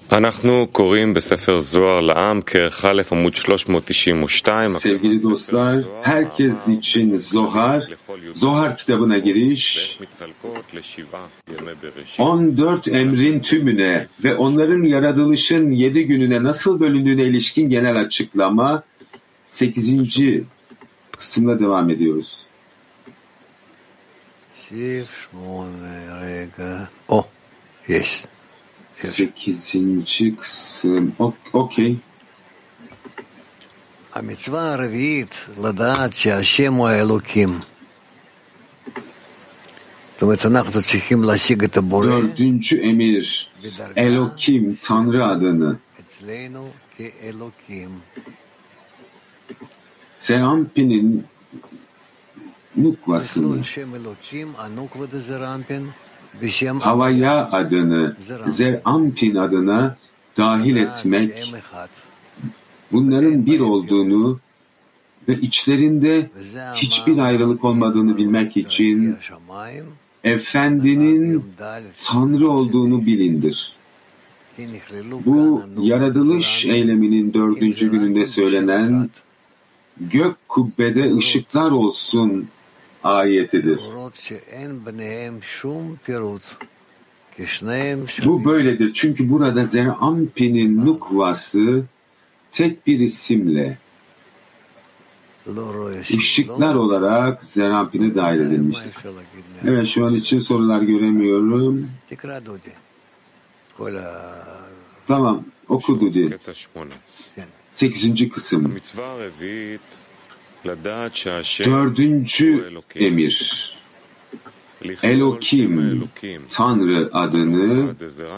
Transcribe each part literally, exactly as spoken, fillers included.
Sevgili dostlar, herkes için Zohar, Zohar kitabına giriş, on dört emrin tümüne ve onların yaratılışın yedi gününe nasıl bölündüğüne ilişkin genel açıklama, sekizinci kısımla devam ediyoruz. Oh, yes. Sekizinci kısım. Okey. המצווה הרביעית, לדעת שהשם הוא האלוקים. זאת אומרת, אנחנו צריכים להשיג את הבורא. Dördüncü emir, Elokim, Tanrı adını. אצלנו כאלוקים. Zerampin'in nukvasını, Havaya adını, Zerampin adına dahil etmek, bunların bir olduğunu ve içlerinde hiçbir ayrılık olmadığını bilmek için Efendinin Tanrı olduğunu bilindir. Bu yaratılış eyleminin dördüncü gününde söylenen gök kubbede ışıklar olsun ayetidir. Bu böyledir çünkü burada Zerampin'in nukvası tek bir isimle ışıklar olarak Zerampin'e dahil edilmiştir. Evet, şu an için sorular göremiyorum. Tamam, oku Dudi. Sekizinci kısım. Dördüncü emir. Elokim, Tanrı adını,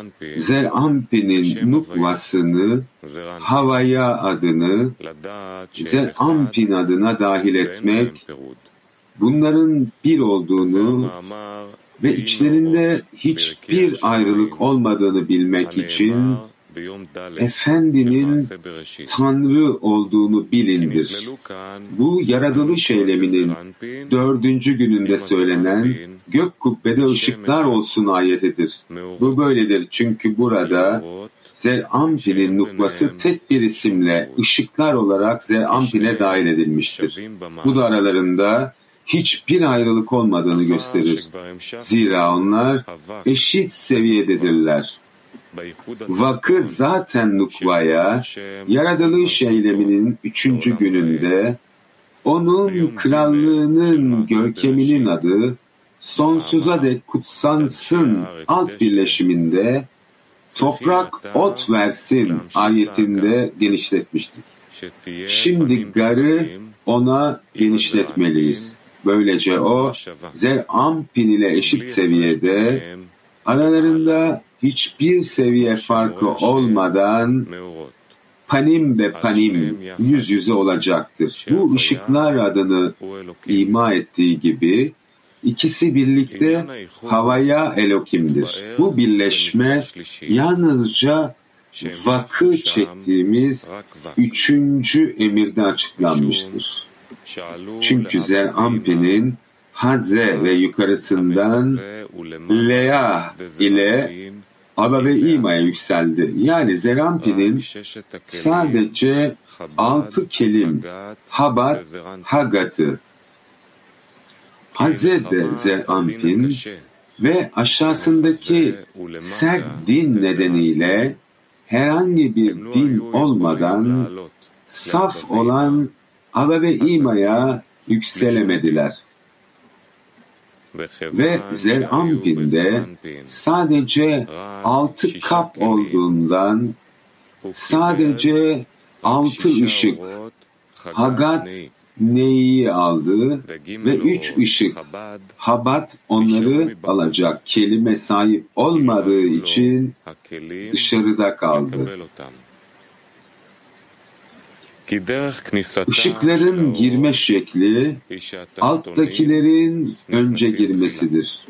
Zerampin'in nukvasını, Havaya adını, Zerampin adına dahil etmek, bunların bir olduğunu ve içlerinde hiçbir ayrılık olmadığını bilmek için Efendinin Tanrı olduğunu bilindir. Bu yaratılış eyleminin dördüncü gününde söylenen gök kubbede ışıklar olsun ayetidir. Bu böyledir çünkü burada Zerampin'in nukvası tek bir isimle ışıklar olarak Zerampin'e dahil edilmiştir. Bu da aralarında hiçbir ayrılık olmadığını gösterir. Zira onlar eşit seviyededirler. Vakı zaten nukvaya, yaratılış eyleminin üçüncü gününde, onun krallığının görkeminin adı, sonsuza dek kutsansın alt birleşiminde, toprak ot versin ayetinde genişletmiştik. Şimdi garı ona genişletmeliyiz. Böylece o, Zerampin ile eşit seviyede, aralarında hiçbir seviye farkı olmadan panim ve panim yüz yüze olacaktır. Bu ışıklar adını ima ettiği gibi ikisi birlikte Havaya Elokim'dir. Bu birleşme yalnızca vakı çektiğimiz üçüncü emirde açıklanmıştır. Çünkü Zerampin'in Haze ve yukarısından Leah ile Aba ve İma'ya yükseldi. Yani Zerampin'in sadece altı kelim Habat, Hagat'ı, Haze de Zerampin ve aşağısındaki sert din nedeniyle herhangi bir din olmadan saf olan Aba ve İma'ya yükselemediler. Ve Zerampin'de sadece altı kap olduğundan sadece altı ışık Hagat Neyi aldı ve üç ışık Habat onları alacak kelime sahip olmadığı için dışarıda kaldı. Işıkların girme şekli alttakilerin önce girmesidir.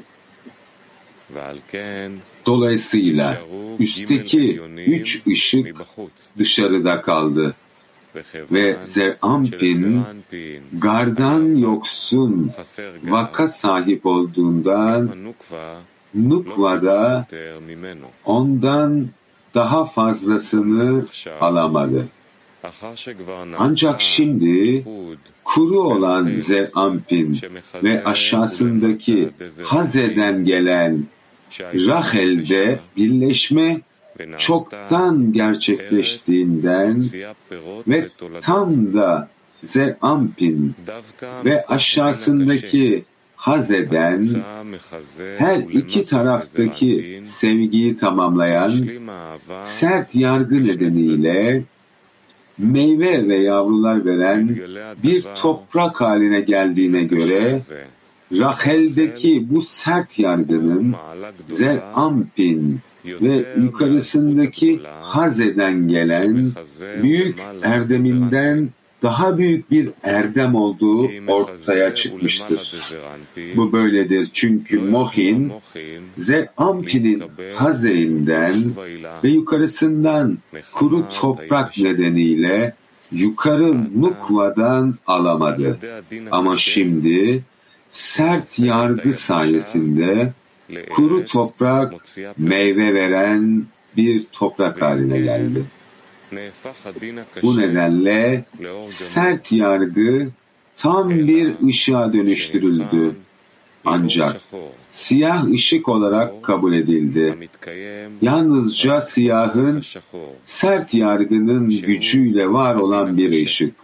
Dolayısıyla üstteki üç ışık dışarıda kaldı ve Zerampin gardan yoksun vaka sahip olduğundan Nukva'da ondan daha fazlasını alamadı. Ancak şimdi kuru olan Ze'ampin ve aşağısındaki Haze'den gelen Rachel'de birleşme çoktan gerçekleştiğinden ve tam da Ze'ampin ve aşağısındaki Haze'den her iki taraftaki sevgiyi tamamlayan sert yargı nedeniyle meyve ve yavrular veren bir toprak haline geldiğine göre Rachel'deki bu sert yargının Ze'ampin ve yukarısındaki Haze'den gelen büyük erdeminden daha büyük bir erdem olduğu ortaya çıkmıştır. Bu böyledir çünkü Mohin, Ze'ampin'in Haze'inden ve yukarısından kuru toprak nedeniyle yukarı Nukva'dan alamadı. Ama şimdi sert yargı sayesinde kuru toprak meyve veren bir toprak haline geldi. Bu nedenle sert yargı tam bir ışığa dönüştürüldü. Ancak siyah ışık olarak kabul edildi. Yalnızca siyahın sert yargının gücüyle var olan bir ışık.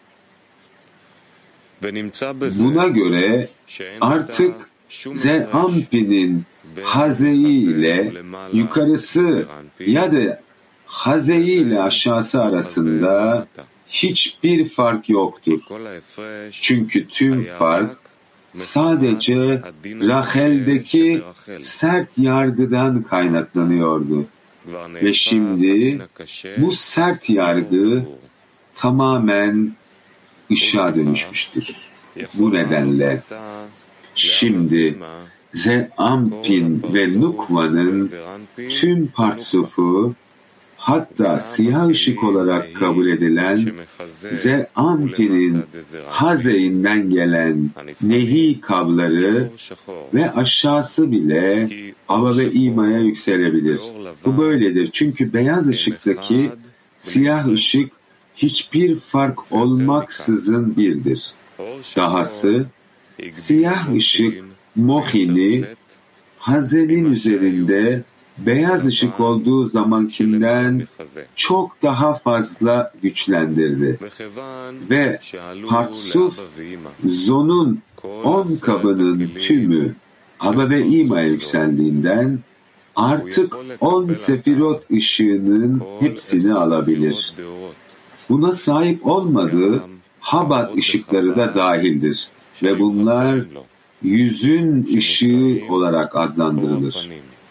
Buna göre artık Ze'ampin'in Haze'i ile yukarısı ya da Haze'i ile aşağısı arasında hiçbir fark yoktur. Çünkü tüm fark sadece Rachel'deki sert yargıdan kaynaklanıyordu. Ve şimdi bu sert yargı tamamen ışığa dönüşmüştür. Bu nedenle şimdi Ze'ampin ve Nukva'nın tüm partsufu, hatta siyah ışık olarak kabul edilen Ze'ampin'in Haze'inden gelen nehi kabları ve aşağısı bile Ava ve İma'ya yükselebilir. Bu böyledir çünkü beyaz ışıktaki siyah ışık hiçbir fark olmaksızın birdir. Dahası siyah ışık Mohin'i Haze'nin üzerinde beyaz ışık olduğu zamankinden çok daha fazla güçlendirdi. Ve Partsuf Zon'un on kabının tümü Ava ve İma'ya yükseldiğinden artık on sefirot ışığının hepsini alabilir. Buna sahip olmadığı Habat ışıkları da dahildir. Ve bunlar yüzün ışığı olarak adlandırılır.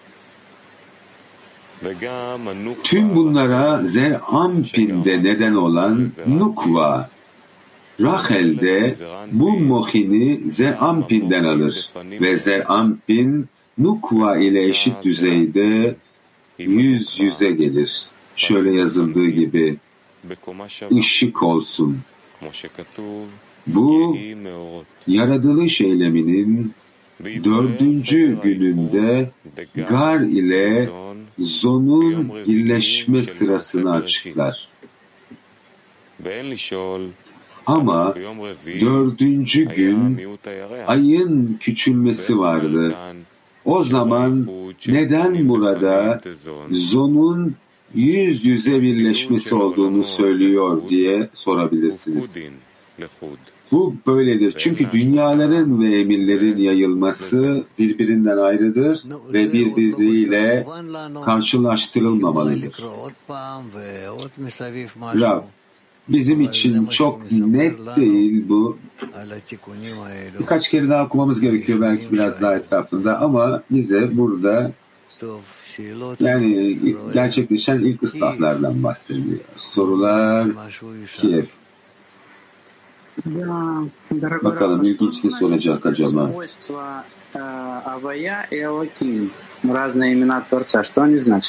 Tüm bunlara Ze'ampin'de neden olan Nukva, Rachel'de bu Mohin'i Ze'ampin'den alır ve Ze'ampin Nukva ile eşit düzeyde yüz yüze gelir. Şöyle yazıldığı gibi ışık olsun. Bu yaratılış eyleminin dördüncü gününde Gar ile Zon'un birleşme sırasını açıklar. Ama dördüncü gün ayın küçülmesi vardı. O zaman neden burada Zon'un yüz yüze birleşmesi olduğunu söylüyor diye sorabilirsiniz. Bu böyledir. Çünkü dünyaların ve emirlerin yayılması birbirinden ayrıdır ve birbiriyle karşılaştırılmamalıdır. Rab, bizim için çok net değil bu. Birkaç kere daha okumamız gerekiyor belki biraz daha etrafında ama bize burada yani gerçekleşen ilk ıslahlardan bahsediyor. Sorular Kiev. Bakalım ilginç ne soracak acaba? Авая и Элоким. Разные имена Творца. Что они значат?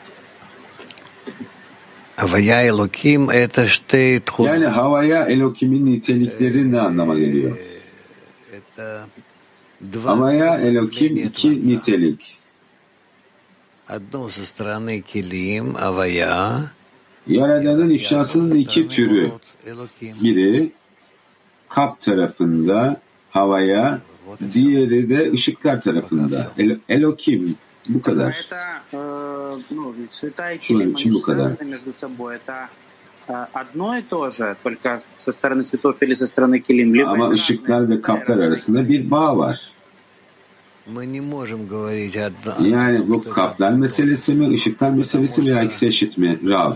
Havaya Elokim это что? Yani havaya Elokim'in nitelikleri ne anlama geliyor? Havaya Elokim iki nitelik. Yaradanın ifşasının iki türü. Biri kap tarafında havaya, diğeri de ışıklar tarafında. El, Elokim. Bu kadar. Şu an için bu kadar. Ama ışıklar ve kaplar arasında bir bağ var. Yani bu kaplar meselesi mi, ışıklar meselesi mi, ikisi eşit mi? Rav.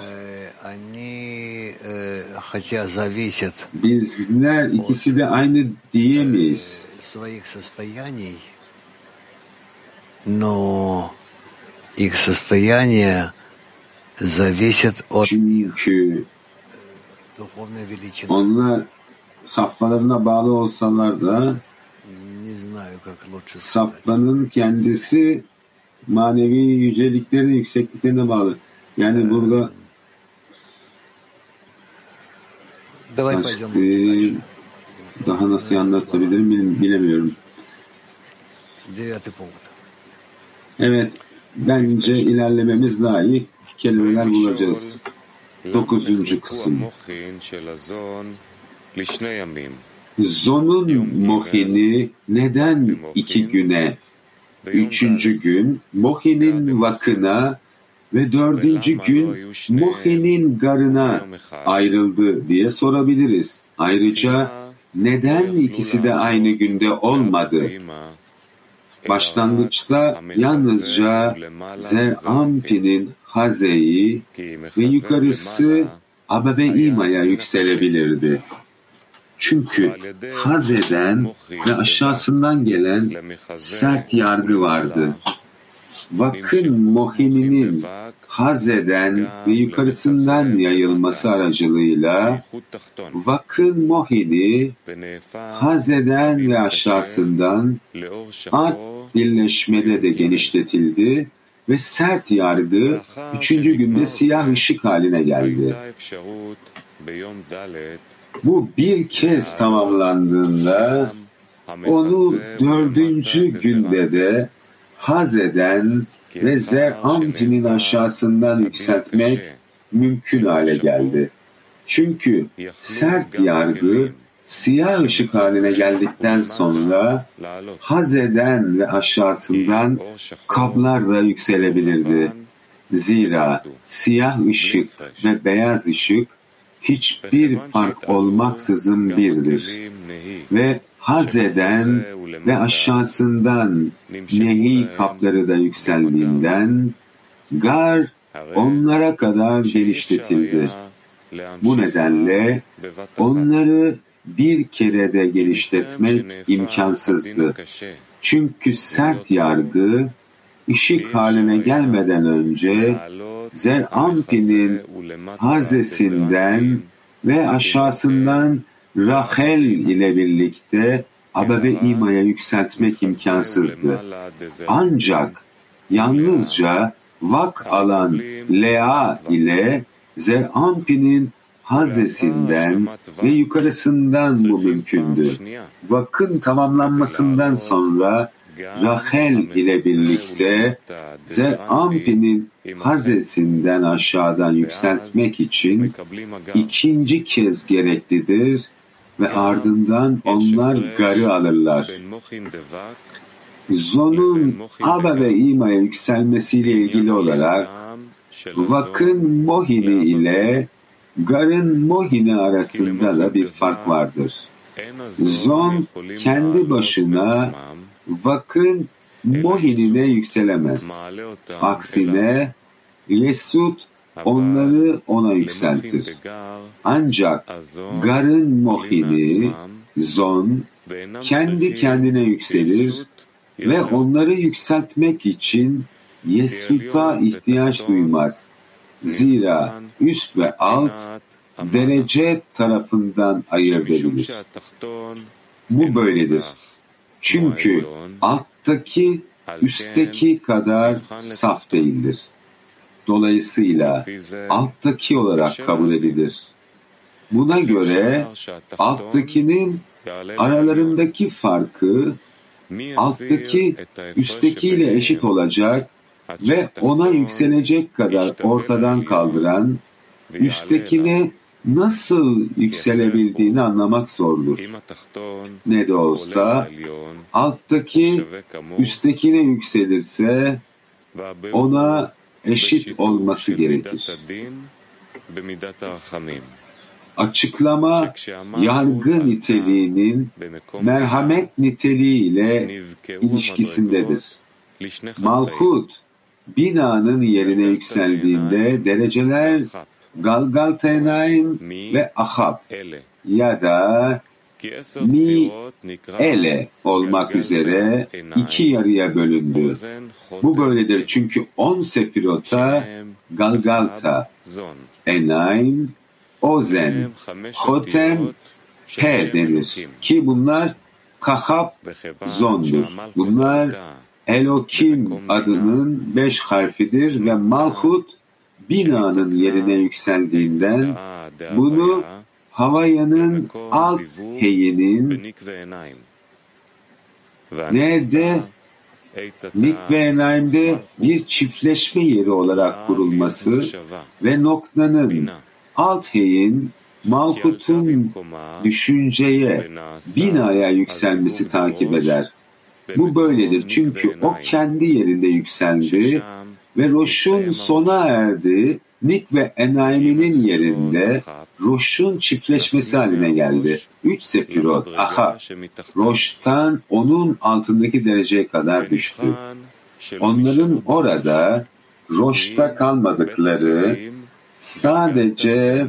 Bizler ikisi de aynı diyemeyiz. Çünkü onlar safhalarına bağlı olsalar da safhanın kendisi manevi yüceliklerin yüksekliklerine bağlı. Yani burada başka, daha nasıl anlatabilirim bilemiyorum. Evet, bence ilerlememiz daha iyi. Kelimeler bulacağız. Dokuzuncu kısım. Zon'un mohini neden iki güne, üçüncü gün mohinin vakına ve dördüncü gün mohinin garına ayrıldı diye sorabiliriz. Ayrıca neden ikisi de aynı günde olmadı? Başlangıçta yalnızca Zer-Ampi'nin Haze'yi ve yukarısı Ababe-İma'ya yükselebilirdi. Çünkü Haze'den ve aşağısından gelen sert yargı vardı. Vakın mohininin Haze'den ve yukarısından yayılması aracılığıyla vakın mohini Haze'den ve aşağısından art birleşmede de genişletildi ve sert yargı üçüncü günde siyah ışık haline geldi. Bu bir kez tamamlandığında onu dördüncü günde de Haze'den ve Zer-Ampi'nin aşağısından yükseltmek mümkün hale geldi. Çünkü sert yargı siyah ışık haline geldikten sonra Haze'den ve aşağısından kablar da yükselebilirdi. Zira siyah ışık ve beyaz ışık hiçbir fark olmaksızın birdir. Ve Haze'den ve aşağısından nehi kapları da yükseldiğinden gar onlara kadar genişletildi. Bu nedenle onları bir kerede genişletmek imkansızdı. Çünkü sert yargı ışık haline gelmeden önce Zer-Ampi'nin Haze'sinden ve aşağısından Rahel ile birlikte Ababe-İma'ya yükseltmek imkansızdı. Ancak yalnızca vak alan Lea ile Zer-Ampi'nin Haze'sinden ve yukarısından bu mümkündü. Vakın tamamlanmasından sonra Rahel ile birlikte Zer-Ampi'nin Haze'sinden aşağıdan yükseltmek için ikinci kez gereklidir ve ardından onlar garı alırlar. Zon'un Aba ve İma'ya yükselmesiyle ilgili olarak vakın mohini ile garın mohini arasında da bir fark vardır. Zon kendi başına vakın mohinine yükselemez. Aksine Yesud onları ona yükseltir. Ancak garın mohini, zon, kendi kendine yükselir ve onları yükseltmek için Yesud'a ihtiyaç duymaz. Zira üst ve alt derece tarafından ayırt edilir. Bu böyledir. Çünkü alttaki üstteki kadar saf değildir. Dolayısıyla alttaki olarak kabul edilir. Buna göre alttakinin aralarındaki farkı alttaki üsttekiyle eşit olacak ve ona yükselecek kadar ortadan kaldıran, üsttekine nasıl yükselebildiğini anlamak zordur. Ne de olsa alttaki üsttekine yükselirse ona eşit olması gerekir. Açıklama yargı niteliğinin merhamet niteliğiyle ilişkisindedir. Malkut binanın yerine yükseldiğinde dereceler Galgaltenaim ve Ahab ya da Mi Ele olmak üzere iki yarıya bölündü. Bu böyledir çünkü on sefirota Galgalta, Enaim, Ozen, Hotem, He denir ki bunlar Kahab, Zon'dur. Bunlar Elokim adının beş harfidir ve Malhut binanın yerine yükseldiğinden bunu Havaya'nın alt heyinin nerede Nikve Enaim'de bir çiftleşme yeri olarak kurulması ve noktanın alt heyin Malhut'un düşünceye, binaya yükselmesi takip eder. Bu böyledir çünkü o kendi yerinde yükseldi ve Roş'un sona erdi. Nik ve Enaim'inin yerinde Roş'un çiftleşmesi haline geldi. Üç sefirot, aha, Roş'tan onun altındaki dereceye kadar düştü. Onların orada Roş'ta kalmadıkları sadece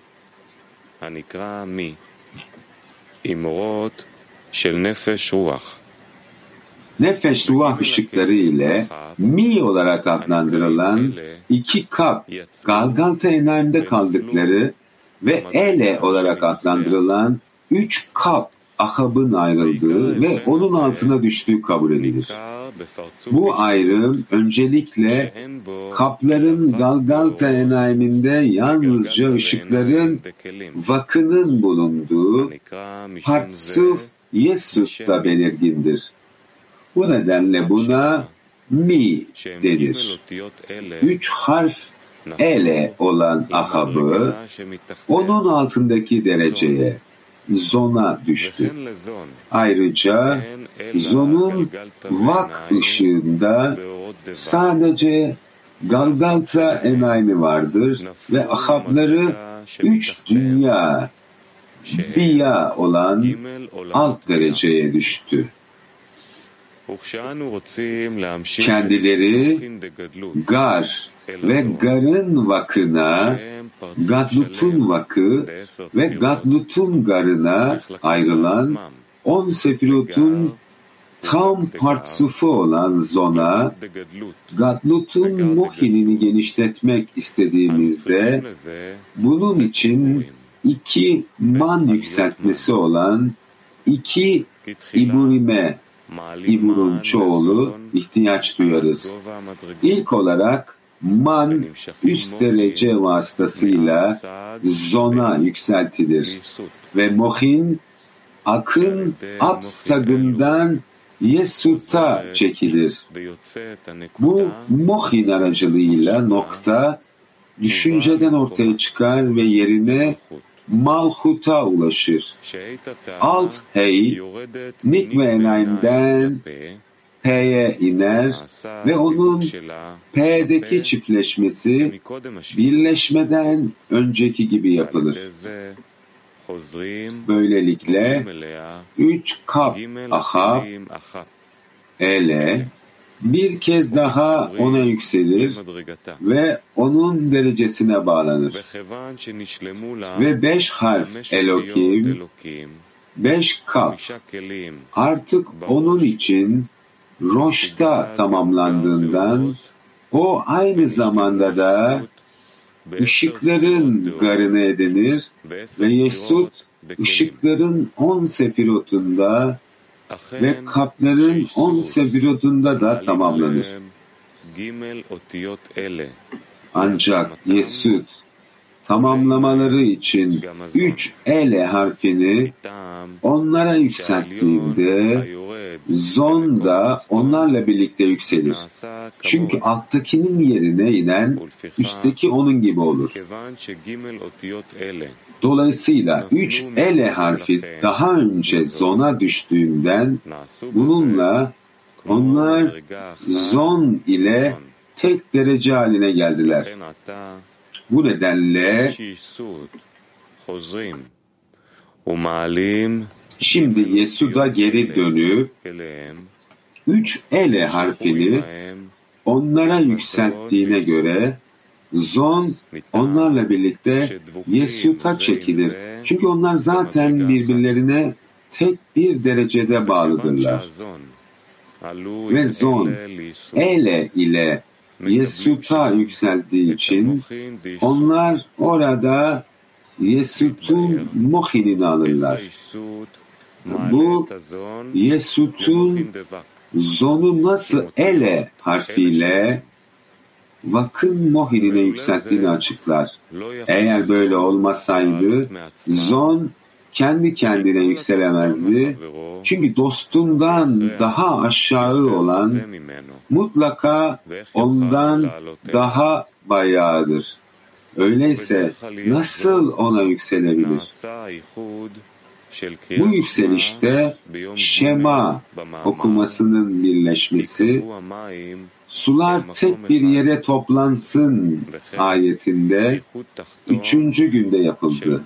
nefes ruh ışıkları ile Mi olarak adlandırılan iki kap Galgalta Enaim'de kaldıkları ve Ele olarak adlandırılan üç kap Ahab'ın ayrıldığı ve onun altına düştüğü kabul edilir. Bu ayrım öncelikle kapların Galgalta Enaim'inde yalnızca ışıkların vakının bulunduğu Partsuf Yesut'ta belirgindir. Bu nedenle buna Mi denir. Üç harf Ele olan Ahab'ı onun altındaki dereceye, Zon'a düştü. Ayrıca Zon'un vak ışığında sadece Galgalta Enaim'i vardır ve Ahab'ları üç dünya, Biya olan alt dereceye düştü. Kendileri Gar ve Gar'ın vakına, Gadlut'un vakı ve Gadlut'un Gar'ına ayrılan on sefirotun tam partsufu olan Zon'a, Gadlut'un Mohin'ini genişletmek istediğimizde bunun için iki man yükseltmesi olan iki iburime, İbur'un çoğulu ihtiyaç duyarız. İlk olarak man üst derece vasıtasıyla Zon'a yükseltilir ve Mohin akın Absag'ından Yesut'a çekilir. Bu Mohin aracılığıyla nokta düşünceden ortaya çıkar ve yerine Malhut'a ulaşır. Alt hey, Nik ve Enaim'den P'ye iner ve onun P'deki çiftleşmesi birleşmeden önceki gibi yapılır. Böylelikle üç kap Ahab, Ele bir kez daha ona yükselir ve onun derecesine bağlanır. Ve beş harf Elokim, beş kap artık onun için Roş'ta tamamlandığından o aynı zamanda da ışıkların garını edinir ve Yesut ışıkların on sefirotunda ve kapların on sefirotunda da tamamlanır. Ancak Yesut tamamlamaları için üç ele harfini onlara yükselttiğinde zon da onlarla birlikte yükselir. Çünkü alttakinin yerine inen üstteki onun gibi olur. Dolayısıyla üç ele harfi daha önce zona düştüğünden bununla onlar zon ile tek derece haline geldiler. Bu nedenle şimdi Yesuda geri dönüp üç ele harfini onlara yükselttiğine göre zon onlarla birlikte Yesut'a çekilir. Çünkü onlar zaten birbirlerine tek bir derecede bağlıdırlar. Ve zon ele ile Yesut'a yükseldiği için onlar orada Yesut'un mohinini alırlar. Bu Yesut'un zonu nasıl ele harfiyle vakın mohinine yükselttiğini açıklar. Eğer böyle olmasaydı zon kendi kendine yükselemezdi. Çünkü dostundan daha aşağı olan mutlaka ondan daha bayağıdır. Öyleyse nasıl ona yükselebilir? Bu yükselişte Şema okumasının birleşmesi, sular tek bir yere toplansın ayetinde üçüncü günde yapıldı.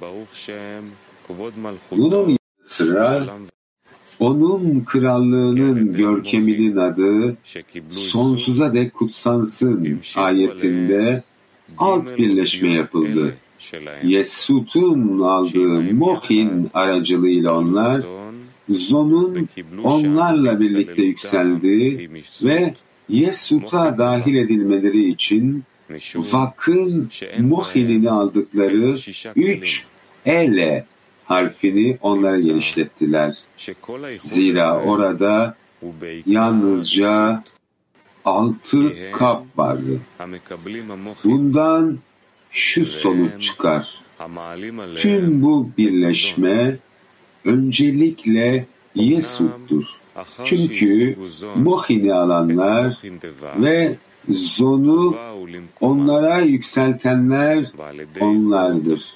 Bunun yanı sıra onun krallığının görkeminin adı sonsuza dek kutsansın ayetinde alt birleşme yapıldı. Yesut'un aldığı mohin aracılığıyla onlar zonun onlarla birlikte yükseldiği ve Yesut'a dahil edilmeleri için vakın mohinini aldıkları üç ele harfini onlara genişlettiler. Zira orada yalnızca altı kap vardı. Bundan şu sonuç çıkar. Tüm bu birleşme öncelikle Yesut'tur. Çünkü mohin'i alanlar ve zonu onlara yükseltenler onlardır.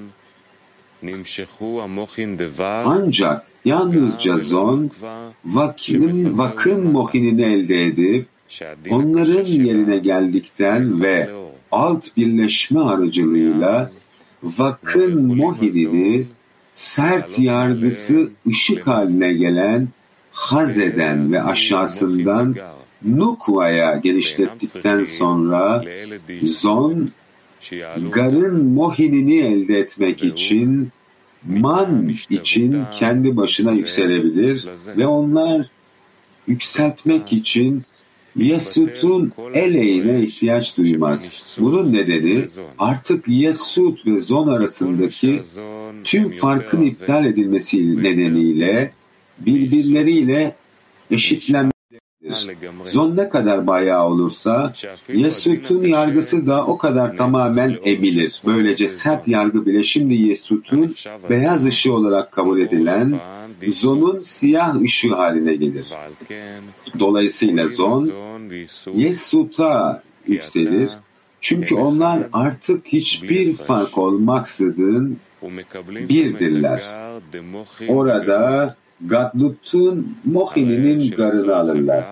Ancak yalnızca zon vakın, vakın mohinini elde edip onların yerine geldikten ve alt birleşme aracılığıyla vakın mohinini sert yargısı ışık haline gelen Haze'den ve aşağısından Nukva'ya genişlettikten sonra zon garın mohinini elde etmek için man için kendi başına yükselebilir ve onlar yükseltmek için Yesut'un eleğine ihtiyaç duymaz. Bunun nedeni artık Yesut ve zon arasındaki tüm farkın iptal edilmesi nedeniyle birbirleriyle eşitlenmektedir. Zon ne kadar bayağı olursa Yesut'un yargısı da o kadar tamamen emilir. Böylece sert yargı bile şimdi Yesut'un beyaz ışığı olarak kabul edilen zonun siyah ışığı haline gelir. Dolayısıyla zon Yesut'a yükselir. Çünkü onlar artık hiçbir fark olmaksızın birdirler. Orada Gadlut'un mohininin garını alırlar.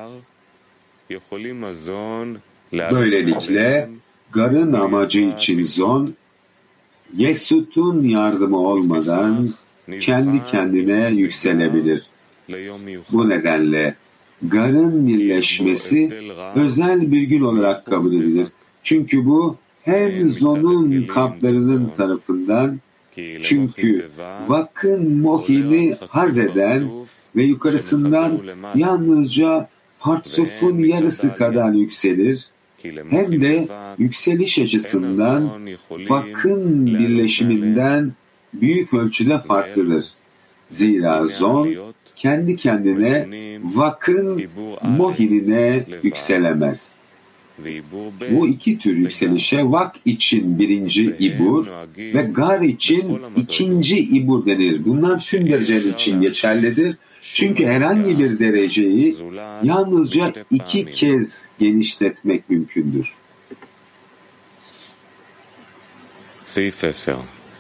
Böylelikle garın amacı için zon Yesut'un yardımı olmadan kendi kendine yükselebilir. Bu nedenle garın birleşmesi özel bir gün olarak kabul edilir. Çünkü bu hem zonun kaplarının tarafından, çünkü vakın mohini haz eden ve yukarısından yalnızca partsufun yarısı kadar yükselir, hem de yükseliş açısından vakın birleşiminden büyük ölçüde farklıdır. Zira zon kendi kendine vakın mohinine yükselemez. Bu iki tür yükselişe vak için birinci ibur ve gar için ikinci ibur denir. Bunlar tüm dereceler için geçerlidir. Çünkü herhangi bir dereceyi yalnızca iki kez genişletmek mümkündür. סעיף עשר.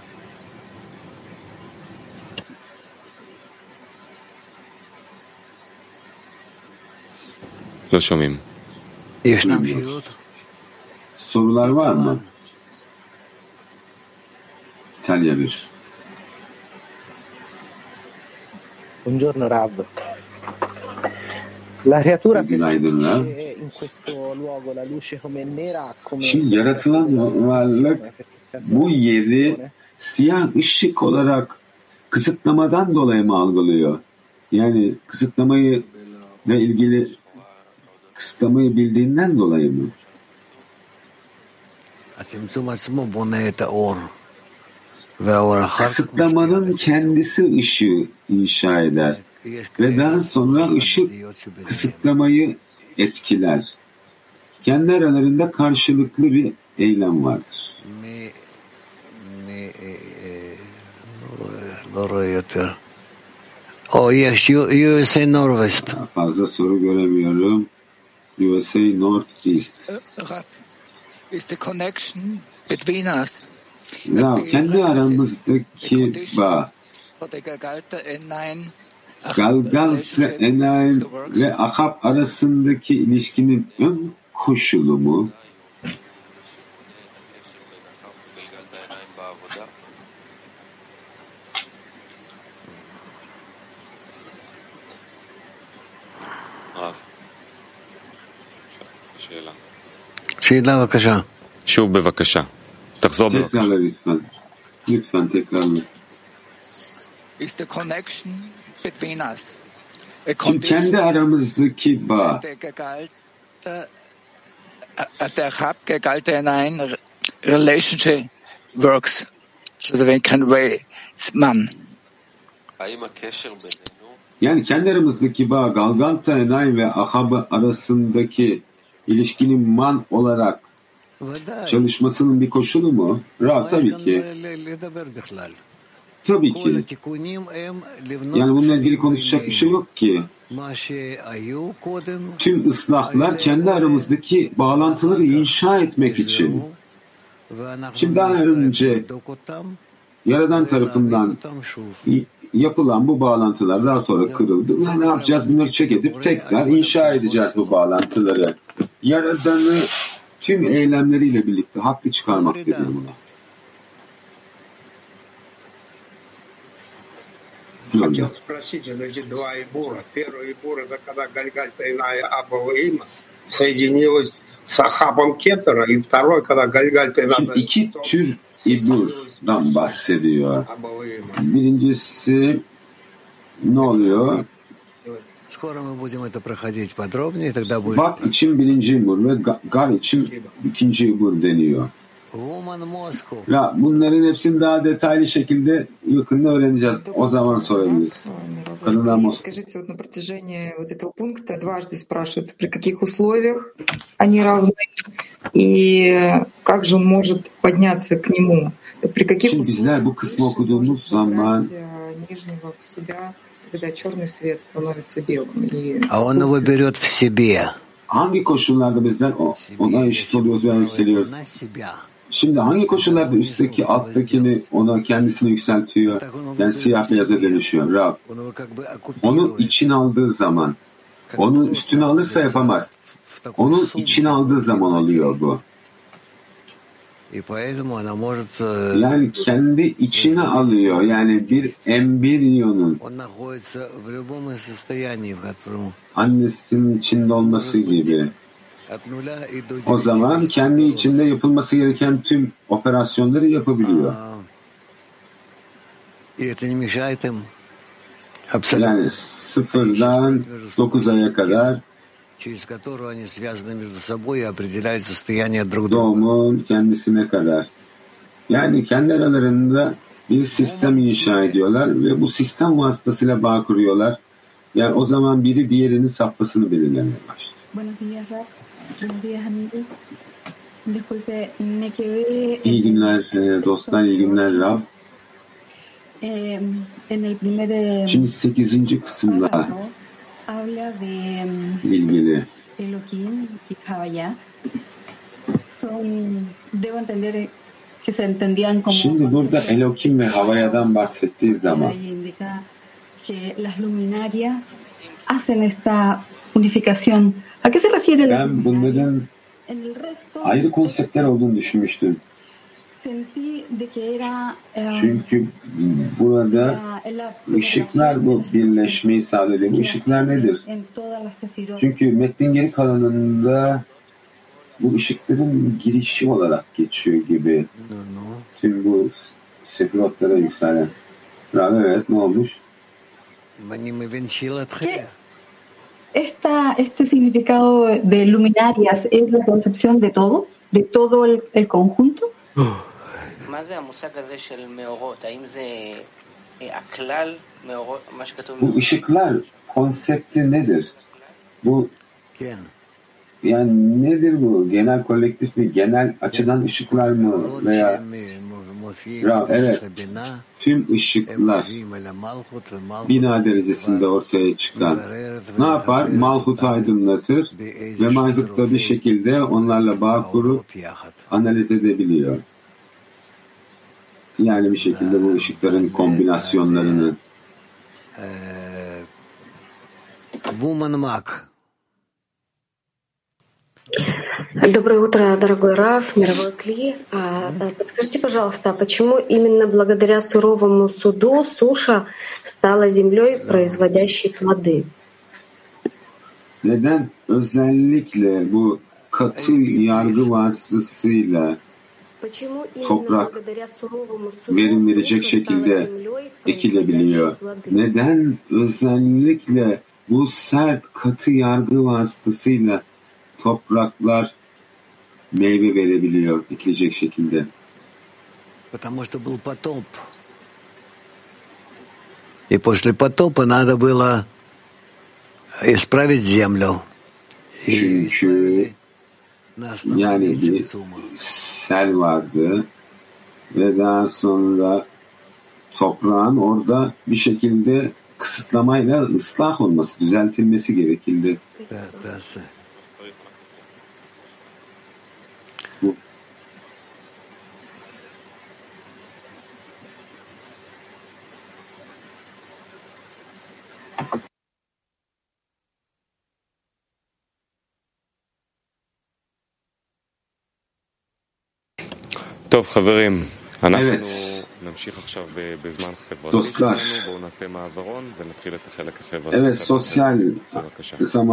לא שומעים. ישנם שאלות? Sorular var mı? İtalya bir. Buongiorno Rav. La creatura Günaydınlar. percepisce in questo luogo la luce come nera, come Şimdi yaratılan varlık bu yeri siyah ışık olarak kısıtlamadan dolayı mı algılıyor? Yani kısıtlamayı ile ilgili kısıtlamayı bildiğinden dolayı mı? Kısıtlamanın kendisi ışığı inşa eder ve daha sonra ışık kısıtlamayı etkiler. Kendi aralarında karşılıklı bir eylem vardır. U S A Northwest. Fazla soru göremiyorum. U S A Northeast. Is the connection between us? Ya kendi aramızdaki bağ, Galgalta Enaim ve Ahab arasındaki ilişkinin ön koşulu mu? שאלה בבקשה. שוב בבקשה. תחזור בבקשה. Tekrarla lütfen. Lütfen tekrarla. Is the connection between us? Şimdi kendi aramızdaki bağ, der Habgegalte hinein relationship works, so that we can weigh man. yani kendi aramızdaki bağ, Galgalta Enaim ve Ahab arasındaki ilişkinin man olarak çalışmasının bir koşulu mu? Ra, tabii ki. Tabii ki. Yani bununla ilgili konuşacak bir şey yok ki. Tüm ıslahlar kendi aramızdaki bağlantıları inşa etmek için. Şimdi daha önce Yaradan tarafından yapılan bu bağlantılar daha sonra kırıldı. Ve ne yapacağız? Bunları çek edip tekrar inşa edeceğiz bu bağlantıları. Yaradanı tüm eylemleriyle birlikte haklı çıkarmak deniyor buna. Хотел спросить, значит, два Ибура. Первый Ибур — это когда Гальгальта Иная Абава Има соединилась с Ахабом Кетера, и второй, когда Гальгальта Şimdi iki tür İbur'dan bahsediyor. Birincisi ne oluyor? Vak için birinci İbur ve Gar için ikinci İbur deniyor. Ya bunların hepsini daha detaylı şekilde yakında öğreneceğiz. O zaman sorabiliriz. Скажите, вот на протяжении вот этого пункта дважды спрашивается, при каких условиях они равны и как же он может подняться к нему. При каких Şimdi bizler bu kısmı okuduğumuz zaman нижнего в себя, когда черный свет становится белым. И А он его берет в себе. Hangi koşullarda bizler ona eşit oluyoruz veya yükseliyoruz? Şimdi hangi koşullarda üstteki alttakini ona kendisini yükseltiyor? Yani siyah beyaza dönüşüyor. Rab. Onu için aldığı zaman, onu üstüne alırsa yapamaz. Onu için aldığı zaman oluyor bu. Yani kendi içine alıyor. Yani bir embriyonun annesinin içinde olması gibi. O zaman kendi içinde yapılması gereken tüm operasyonları yapabiliyor. Yani sıfırdan dokuz aya kadar doğumun kendisine kadar. Yani kendi aralarında bir sistem inşa ediyorlar ve bu sistem vasıtasıyla bağ kuruyorlar. Yani o zaman biri diğerinin safhasını belirlemeye başlıyor. İyi günler dostlar, iyi günler Rab. Şimdi sekizinci kısımda ilgili. Şimdi burada Elohim ve Havaya'dan bahsettiği zaman ben bunların ayrı konseptler olduğunu düşünmüştüm. Çünkü burada ışıklar bu birleşmeyi sağlıyor. Bu ışıklar nedir? Çünkü metnin geri kalanında bu ışıkların girişi olarak geçiyor gibi. Tüm bu sefirotlara yükselen. Evet, ne olmuş? Esta, este significado de luminarias es la concepción de todo, de todo el, el conjunto. Bu ışıklar konsepti nedir? Bu yani nedir bu? Genel kolektif mi? Genel açıdan ışıklar mı? Veya evet, tüm ışıklar bina derecesinde ortaya çıkan ne yapar? Malhut'u aydınlatır ve Malhut da bir şekilde onlarla bağ kurup analiz edebiliyor. Yani bir şekilde bu ışıkların kombinasyonlarını. Доброе утро, дорогой Рав, мировой Кли. Подскажите, пожалуйста, почему именно благодаря суровому суду суша стала землей, производящей плоды? Neden? Özellikle bu katı yargı vasıtasıyla toprak verim verecek şekilde ekilebiliyor. Neden? Özellikle bu sert katı yargı vasıtasıyla topraklar meyve verebiliyor ekilecek şekilde. Потому что был потоп. И после потопа надо было исправить землю. Çünkü yani bir sel vardı ve daha sonra toprağın orada bir şekilde kısıtlamayla ıslah olması, düzeltilmesi gerekildi. Bu. טוב, חברים, אנחנו Evet. נמשיך עכשיו בזמן חברתי Dostlar. שלנו, בואו נעשה מעברון ונתחיל את החלק החברתי. Evet, sosyal zaman